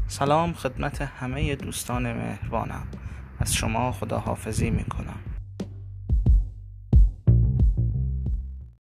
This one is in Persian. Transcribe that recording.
سلام خدمت همه دوستان مهربانم. از شما خداحافظی میکنم.